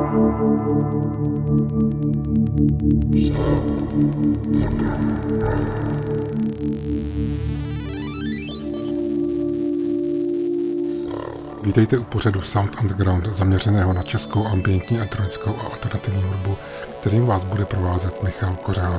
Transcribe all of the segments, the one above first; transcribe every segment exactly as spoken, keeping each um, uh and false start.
Vítejte u pořadu Sound Underground, zaměřeného na českou ambientní, elektronickou a alternativní hudbu, kterým vás bude provázet Michal Kořán.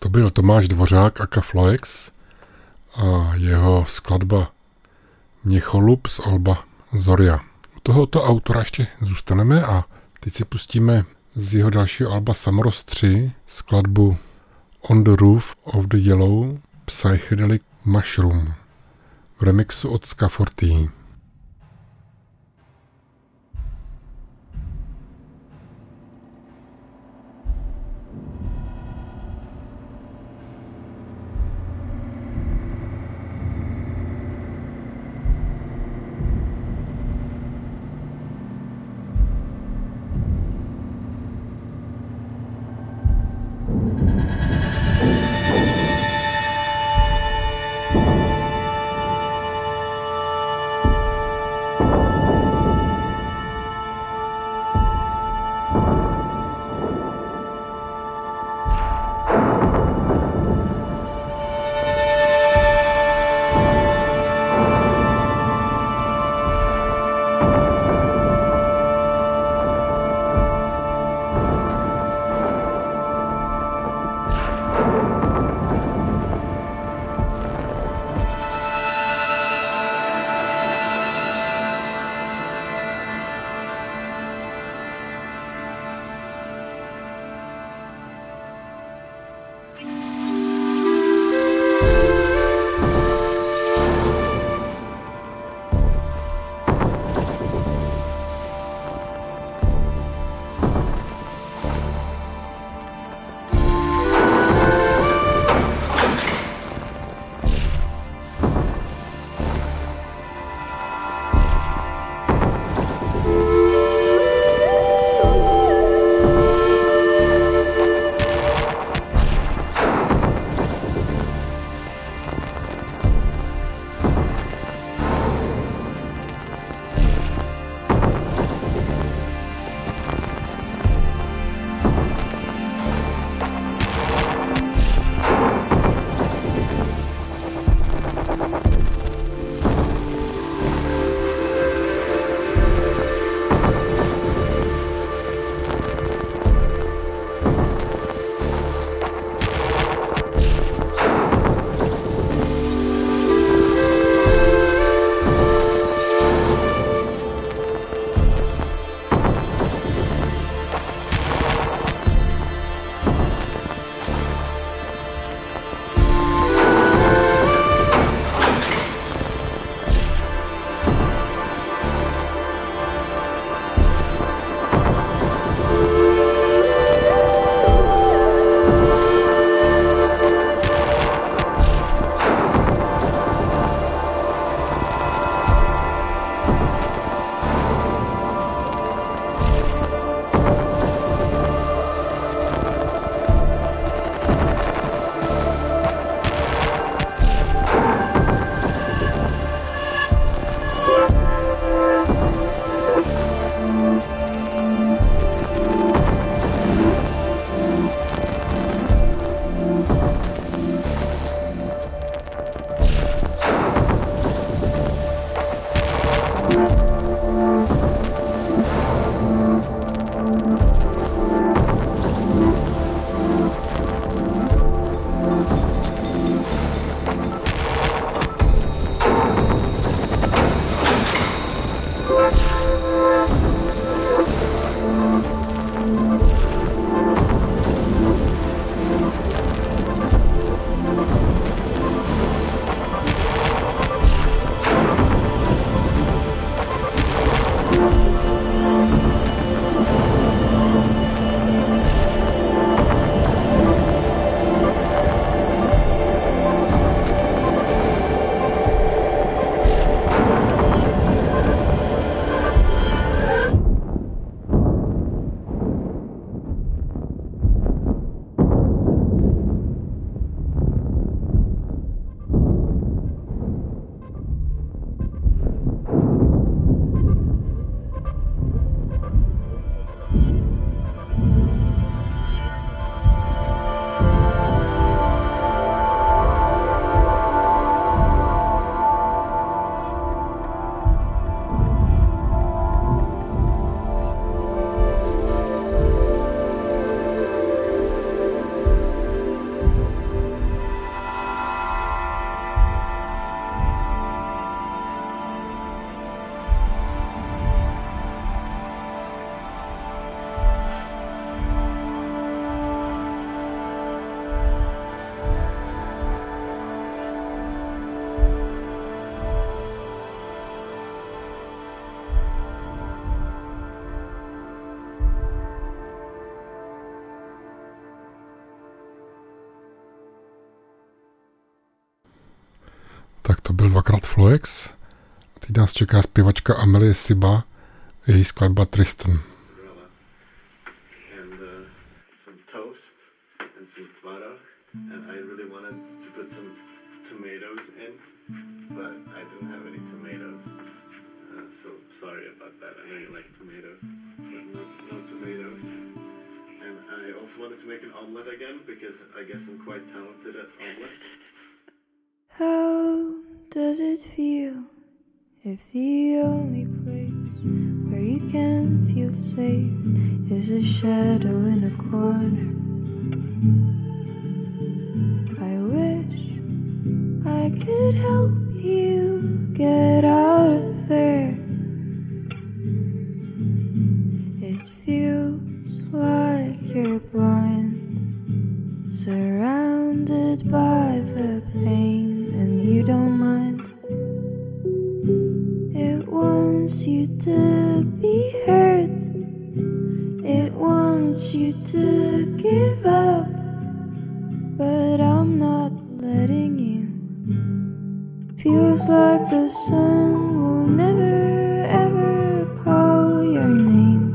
To byl Tomáš Dvořák aka Floex a jeho skladba Měcholub z alba Zoria. U tohoto autora ještě zůstaneme a teď si pustíme z jeho dalšího alba Samorost tři skladbu On the Roof of the Yellow Psychedelic Mushroom v remixu od Scafforty. byl dvakrát Floex. Teď nás čeká zpěvačka Amelie Siba, její skladba Tristan. And I really wanted to put some tomatoes in, but I didn't have any tomatoes. Uh, so sorry about that. I know you like tomatoes, but no, no tomatoes. And I also wanted to make an omelet again because I guess I'm quite talented at omelets. How does it feel if the only place where you can feel safe is a shadow in a corner? I wish I could help you get out of there. It feels like you're blind, surrounded by the pain, and you don't mind. It wants you to be hurt. It wants you to give up. But I'm not letting you. Feels like the sun will never ever call your name.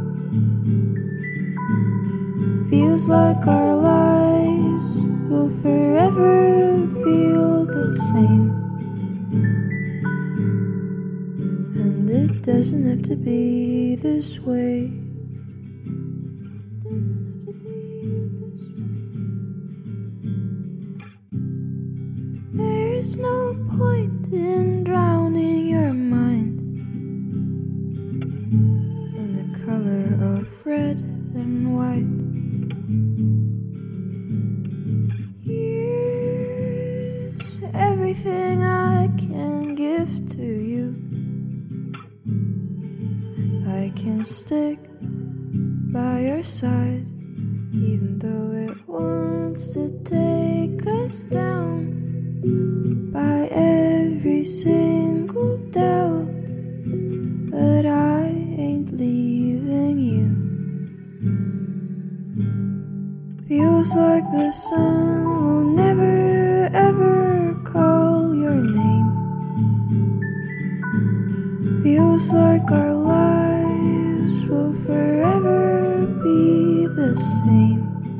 Feels like our lives will forever feel the same. And it doesn't have to be this way. There's no point in drowning your mind in the color of red and white. Here's everything I can give to you. I can stick by your side, even though it wants to take us down. By every single doubt, but I ain't leaving you. Feels like the sun will never ever call your name. Feels like our lives will forever be the same.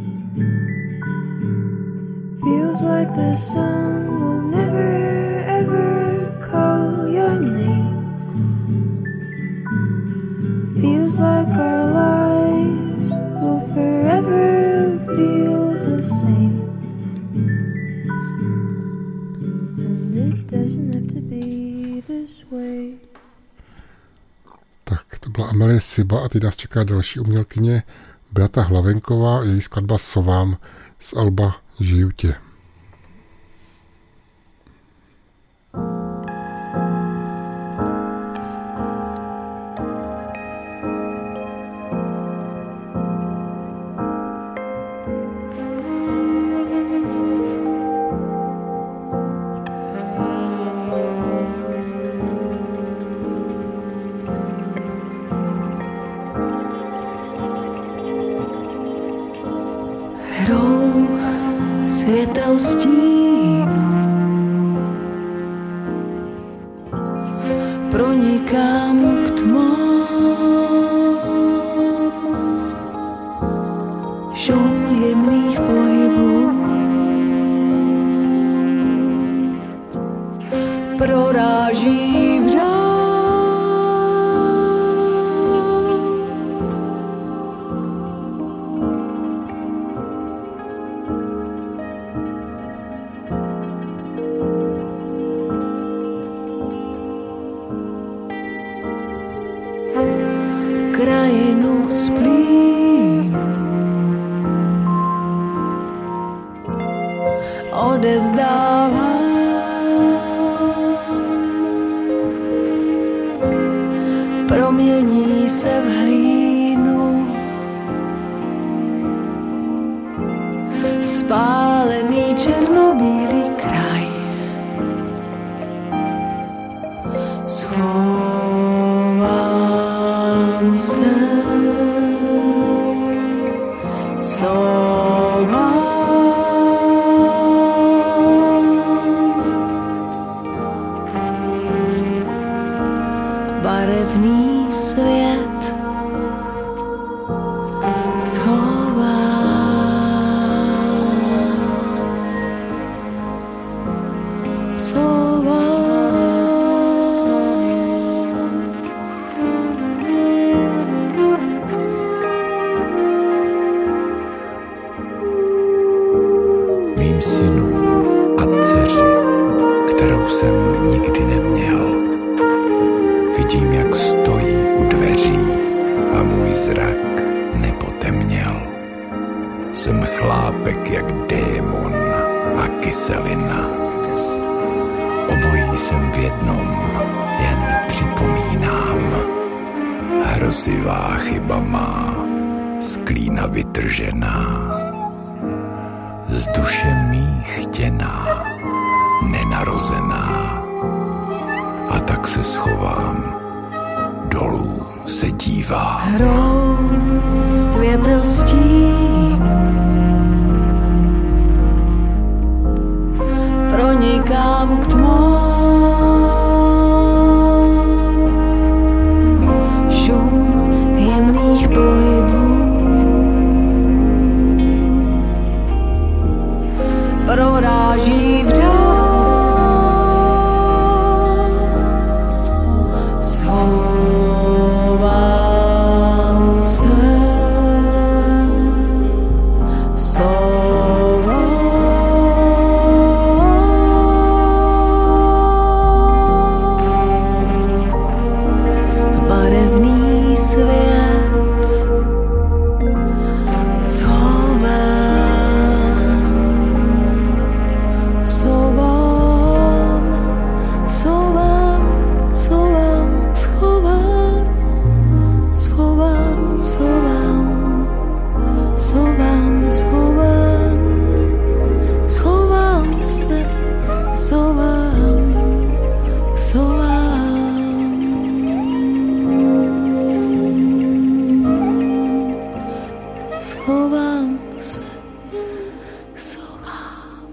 Feels like the sun will never ever call your name. Feels like our lives will forever feel the same. And it doesn't have to be this way. Tak, to byla Amelie Siba a teď nás čeká další umělkyně Beata Hlavenková, její skladba Sovám z alba Žiju tě. Světel stínu pronikám k tmám, šum jemných pohybů proráží v dál. Krajinu z plínu odevzdávám, promění se v hlínu, spálený černobílý kraj. Schovám se, sovám, barevný svět schován. Mým synům a dceři, kterou jsem nikdy neměl, vidím, jak stojí u dveří a můj zrak nepotemněl. Jsem chlápek jak démon a kyselina. Obojí jsem v jednom, jen připomínám. Hrozivá chyba má, z klína vytržená. Z duše mý chtěná, nenarozená. A tak se schovám, dolů se dívám. Hrou světel stínů pronikám k tmám. Šum jemných pohybů proráží v dál. Schovám se, schovám. Barevný svět schovám. Schovám se, schovám.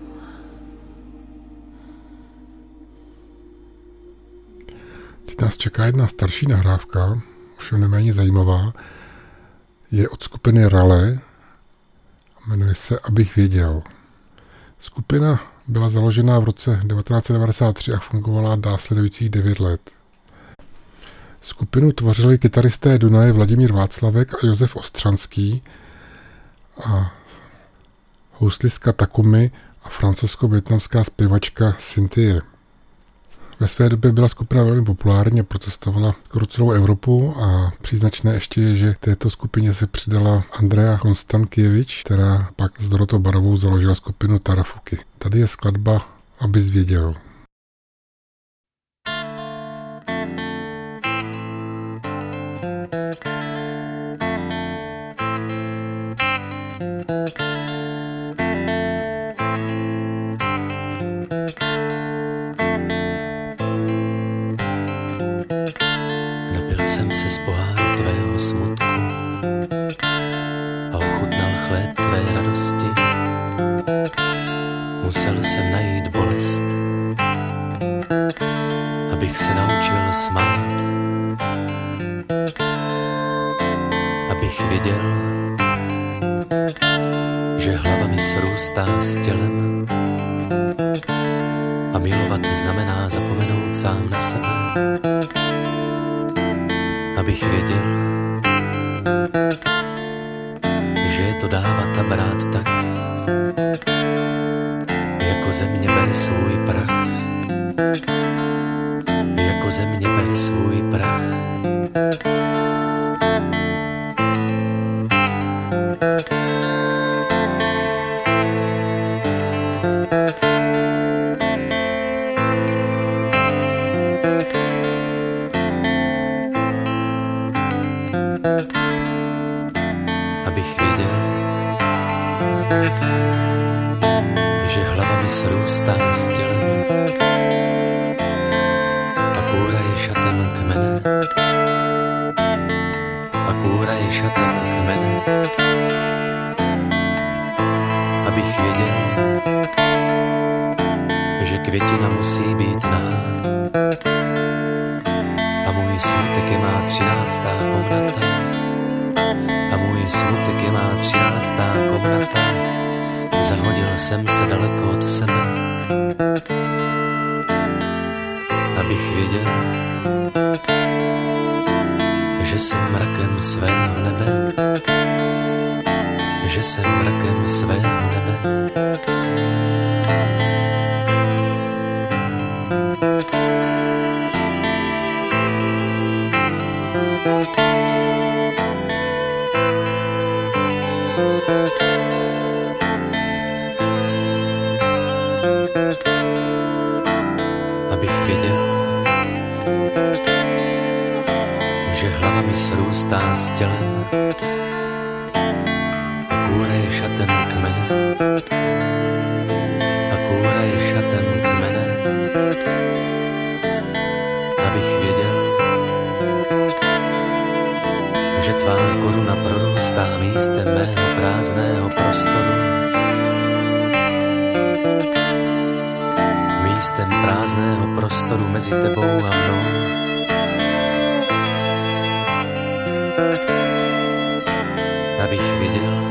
Teď nás čeká jedna starší nahrávka, ovšem neméně zajímavá. Je od skupiny Rale a jmenuje se Abych věděl. Skupina byla založena v roce devatenáct set devadesát tři a fungovala následujících devět let. Skupinu tvořili kytaristé Dunaje Vladimír Václavek a Josef Ostřanský a houslistka Takumi a francouzsko-vietnamská zpěvačka Cynthie. Ve své době byla skupina velmi populární a procestovala skoro celou Evropu a příznačné ještě je, že této skupině se přidala Andrea Konstankievič, která pak s Dorotou Barovou založila skupinu Tarafuky. Tady je skladba Abys věděl. Jsem se z poháru tvého smutku a ochutnal chléb tvé radosti. Musel jsem najít bolest, abych se naučil smát, abych viděl, že hlava mi srůstá s tělem a milovat znamená zapomenout sám na sebe. Abych věděl, že je to dávat a brát tak, jako země bere svůj prach, jako země bere svůj prach. Abych věděl, že hlava mi srůstá s tělem a kůra je šatem kmene, a kůra je šatem kmene. Abych věděl, že květina musí být ná a můj smutek je má třináctá komnata. A můj smutek je má třináctá komnata. Zahodil jsem se daleko od sebe, abych viděl, že jsem mrakem svého nebe, že jsem mrakem svého nebe. Abych viděl, že hlava mi srůstá s tělem a kůra je šatem kmene, a kůra je šatem kmene. Abych věděl, že tvá koruna prorůstá místem mého prázdného prostoru, místem prázdného prostoru mezi tebou a mnou. Abych viděl,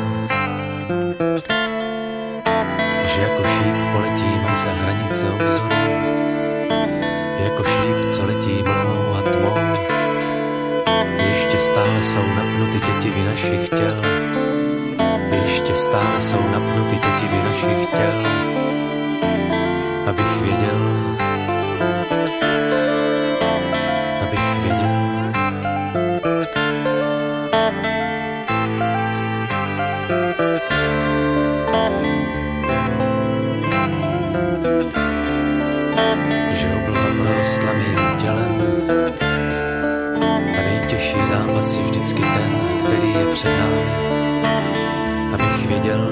že jako šíp poletím až za hranice obzoru, jako šíp, co letí mlhou a tmou. Ještě stále jsou napnuty tětivy našich těl, ještě stále jsou napnuty tětivy našich těl. Abych věděl, abych věděl, že obloha prorostla mým tělem a nejtěžší zápas je vždycky ten, který je před námi. Abych věděl,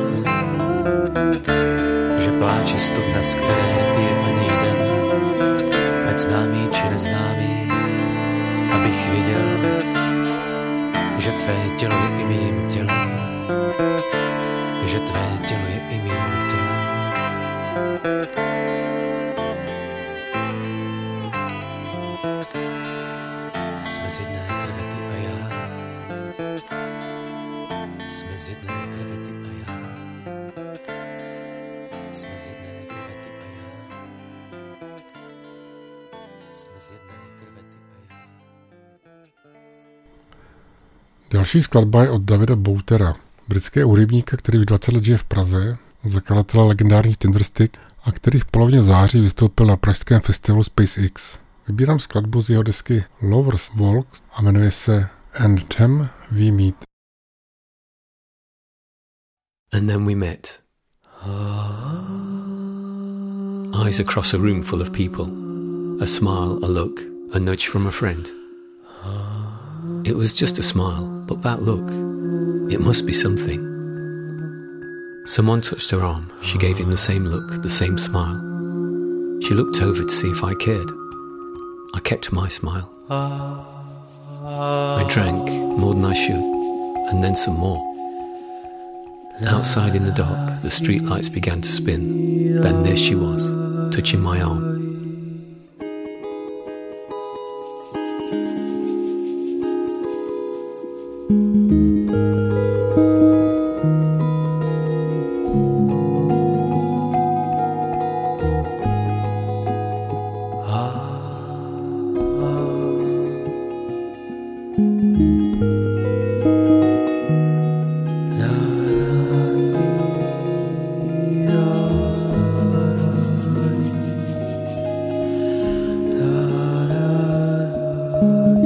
že pláče studna, z které nepije ani jeden, ať známý či neznámý. Abych věděl, že tvé tělo je i mým tělem, že tvé tělo je i mým tělem. Jsme z jedné krve ty a já, jsme z jedné krve ty a já, jsme z jedné krve ty a já, jsme z jedné krve ty a já. Další skladba je od Davida Boutera, britského hudebníka, který už dvacet let žije v Praze, zakladatele legendárních Tinderstick a který v polovině září vystoupil na pražském festivalu SpaceX. Vybírám skladbu z jeho desky Lovers Walk a jmenuje se And Them We Meet. And then we met. Eyes across a room full of people. A smile, a look, a nudge from a friend. It was just a smile, but that look, it must be something. Someone touched her arm. She gave him the same look, the same smile. She looked over to see if I cared. I kept my smile. I drank more than I should, and then some more. Outside in the dark, the street lights began to spin. Then there she was, touching my arm. La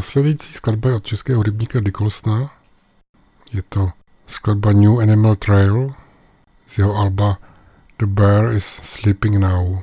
Následující skladba je od českého hudebníka Dickolsona. Je to skladba New Animal Trail z jeho alba The Bear is Sleeping Now.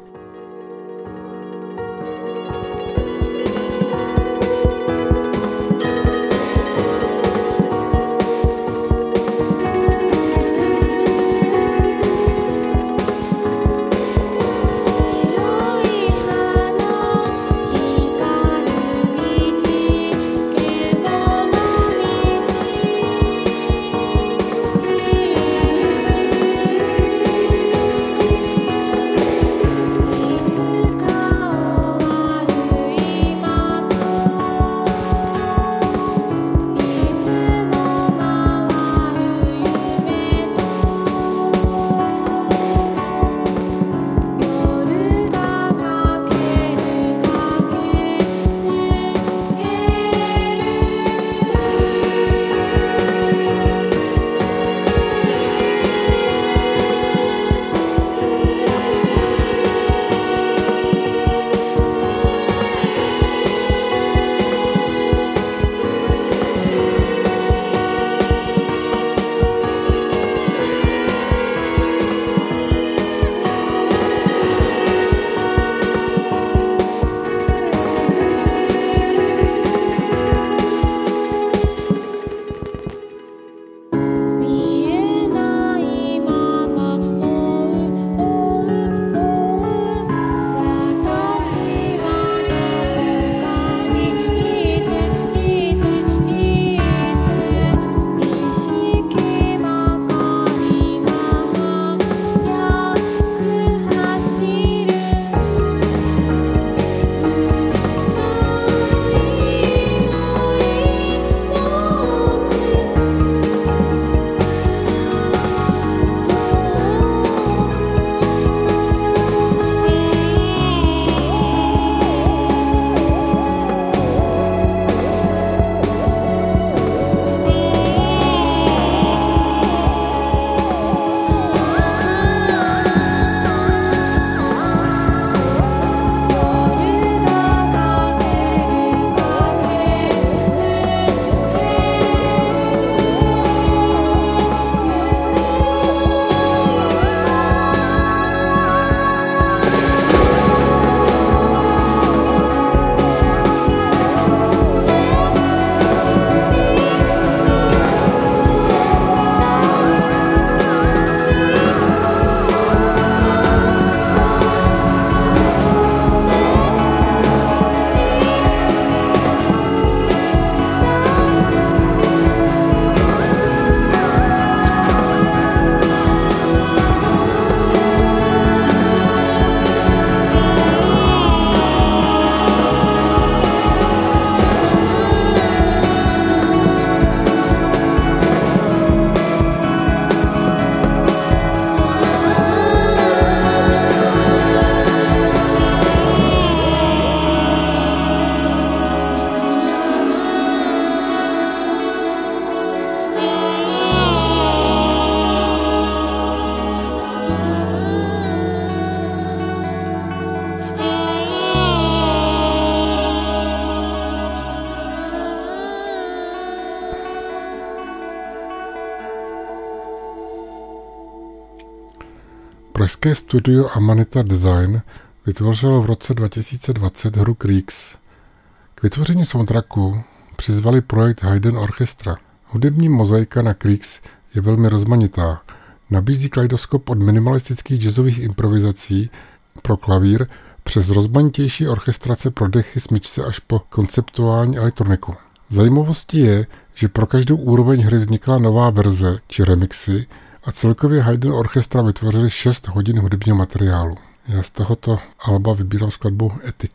Pražské studio Amanita Design vytvořilo v roce dva tisíce dvacet hru Creaks. K vytvoření soundtracku přizvali projekt Haydn Orchestra. Hudební mozaika na Creaks je velmi rozmanitá. Nabízí kaleidoskop od minimalistických jazzových improvizací pro klavír přes rozmanitější orchestrace pro dechy, smyčce až po konceptuální elektroniku. Zajímavostí je, že pro každou úroveň hry vznikla nová verze či remixy a celkově Haydn Orchestra vytvořili šest hodin hudebního materiálu. Já z tohoto alba vybírám skladbu Ethic.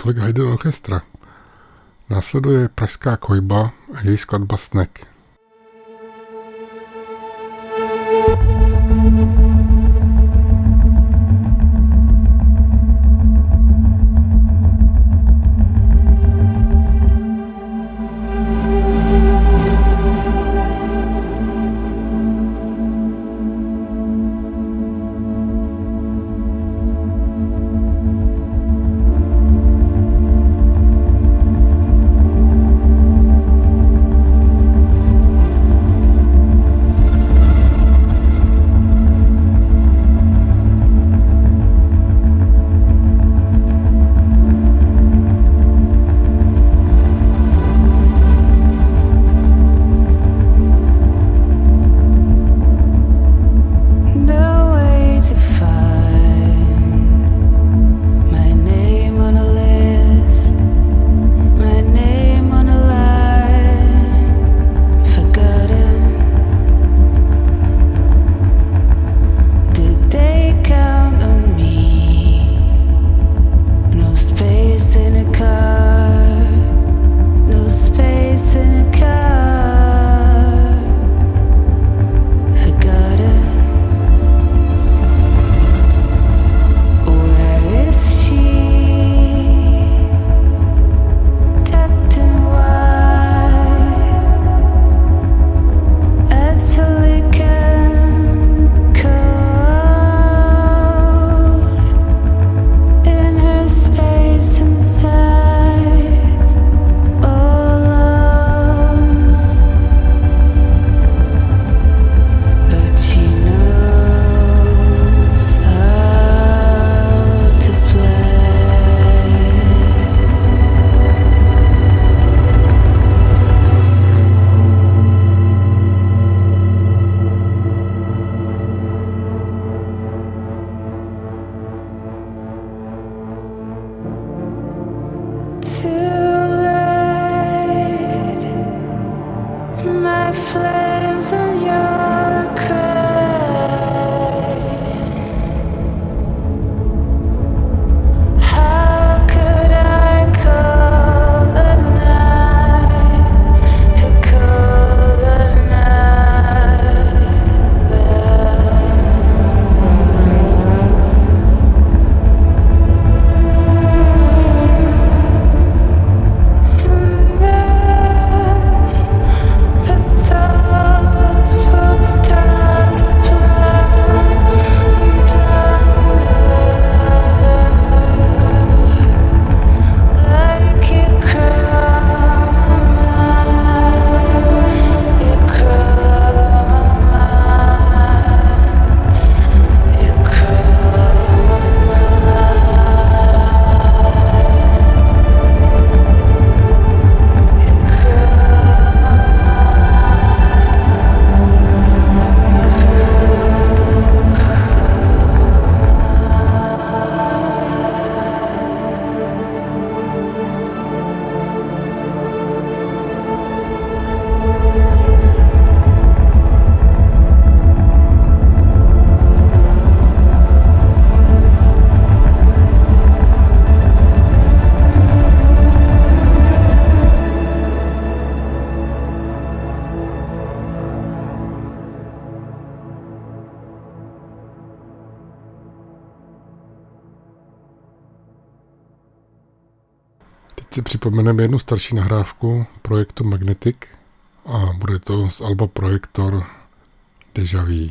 tolik Haydn Orchestra. Následuje Pražská kojba a její skladba Snek. si připomeneme jednu starší nahrávku projektu Magnetic a bude to z alba Projektor Deja Vu.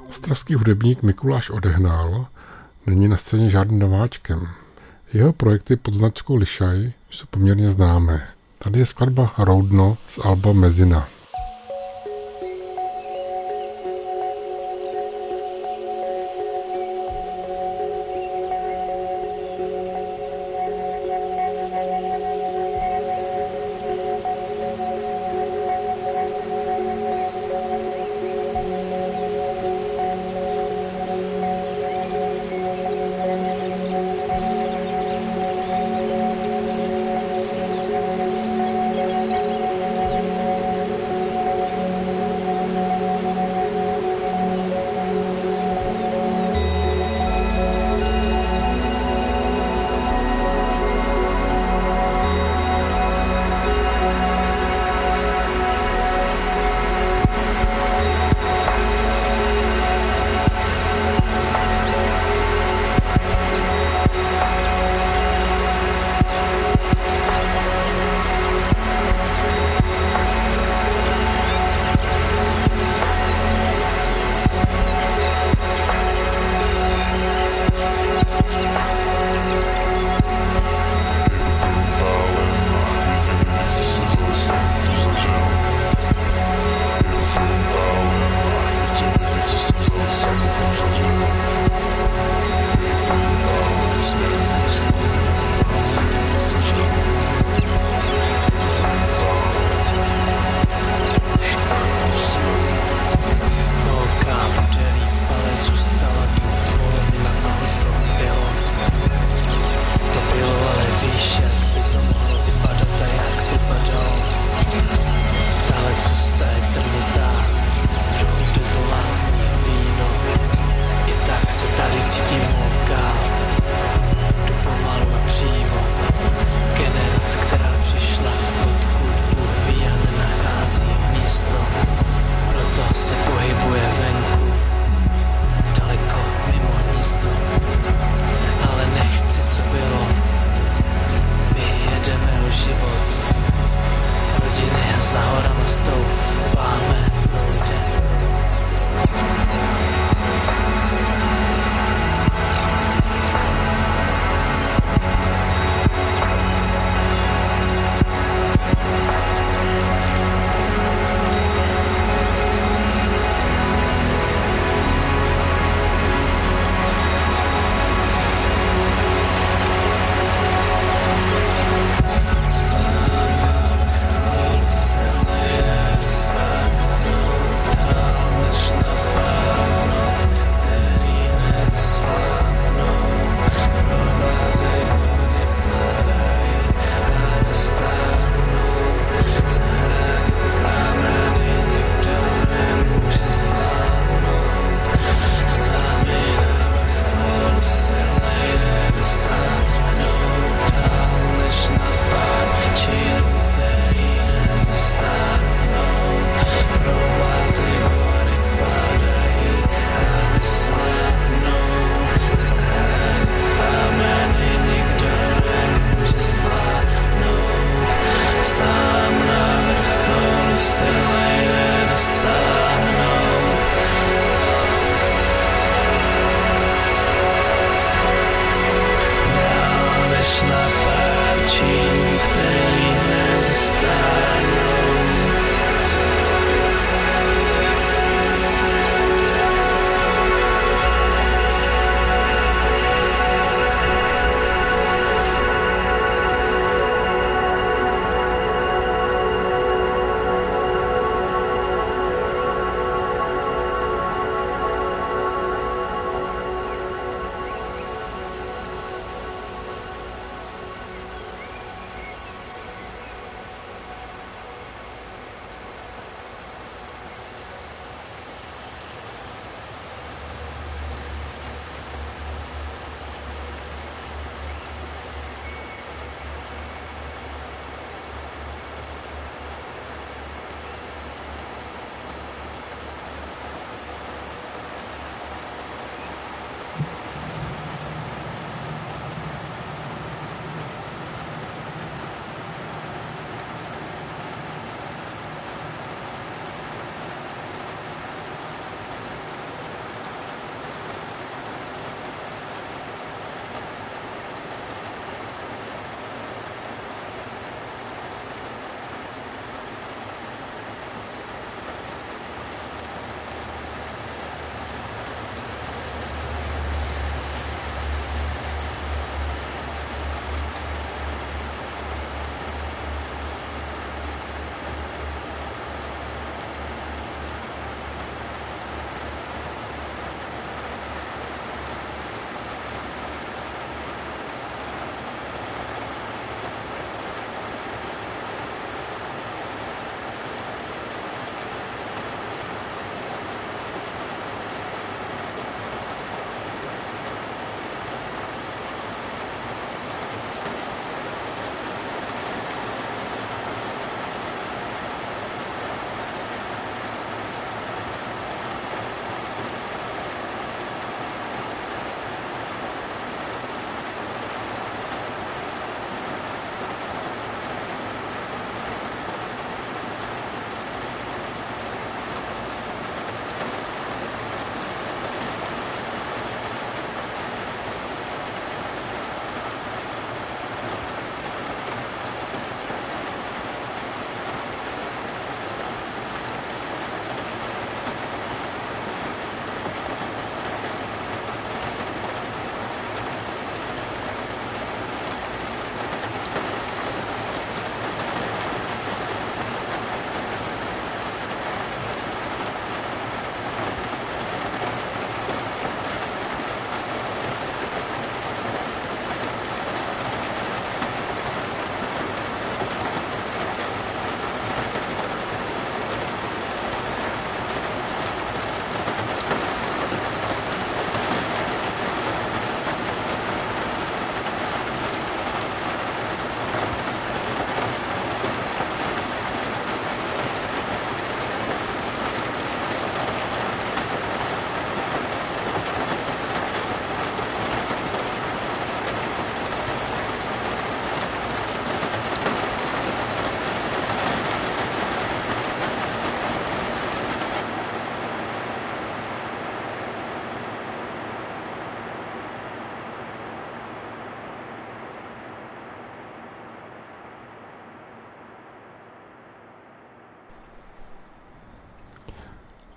Ostravský hudebník Mikuláš Odehnal není na scéně žádným nováčkem. Jeho projekty pod značkou Lišaj jsou poměrně známé. Tady je skladba Roudno z alba Mezina.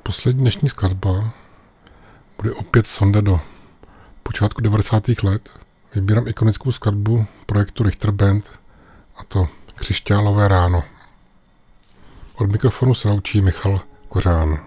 poslední dnešní skladba bude opět sonda do počátku devadesátých let. Vybírám ikonickou skladbu projektu Richter Band, a to Křišťálové ráno. Od mikrofonu se loučí Michal Kořán.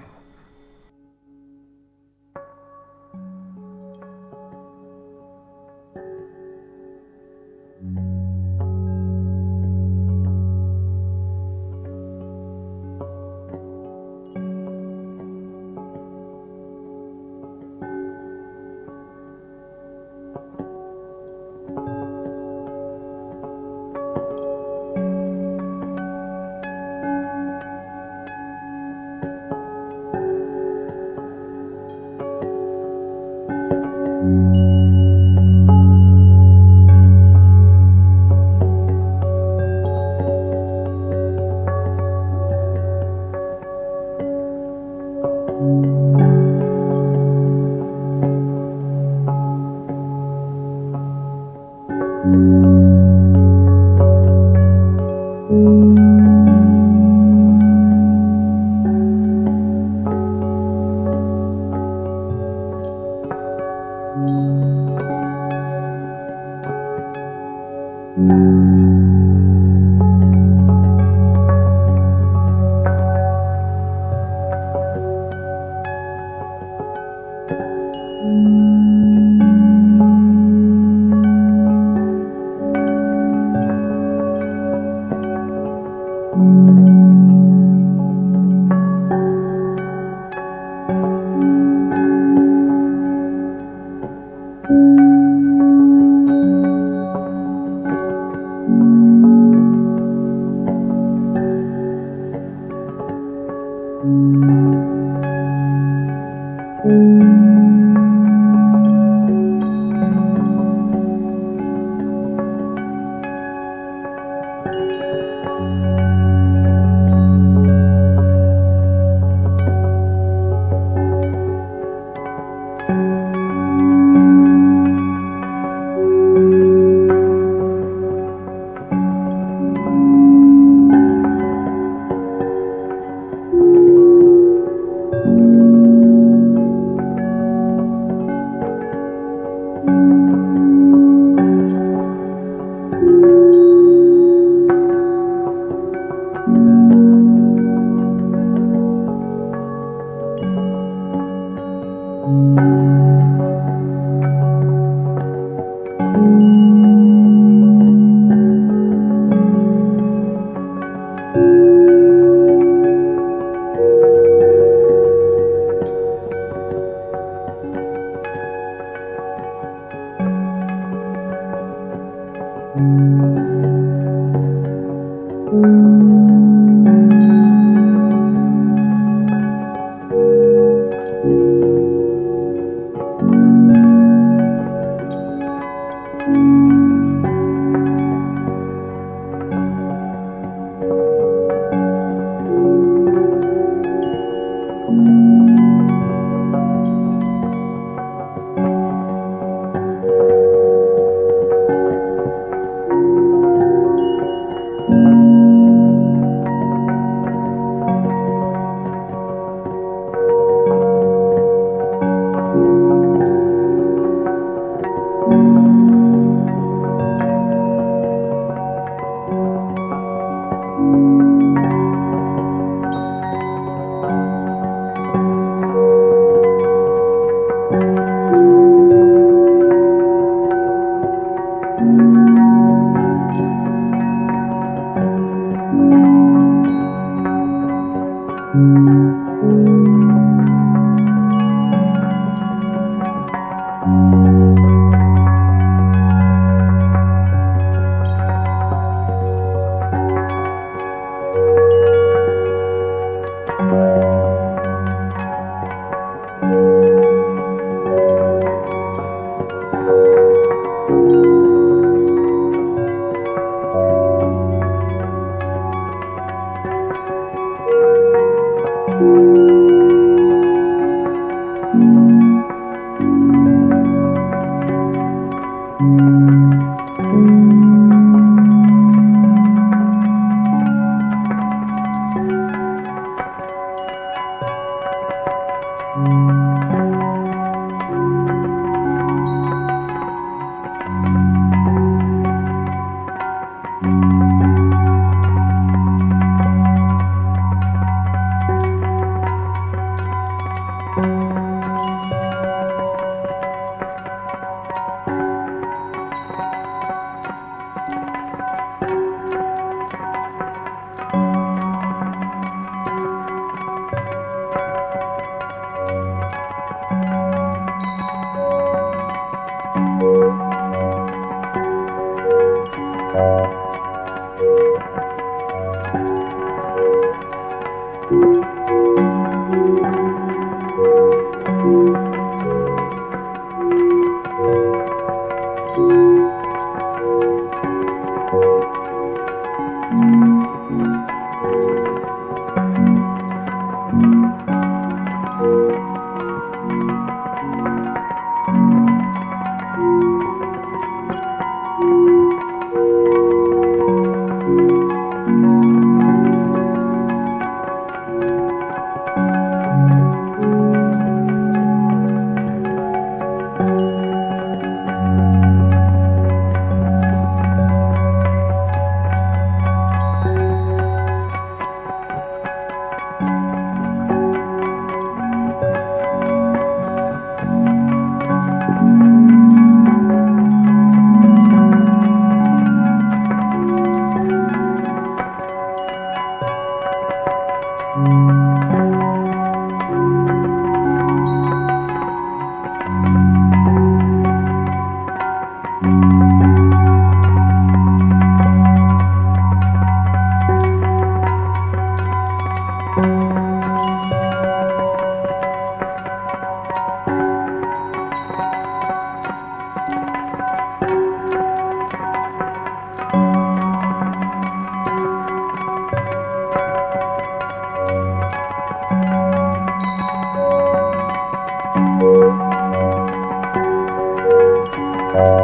Thank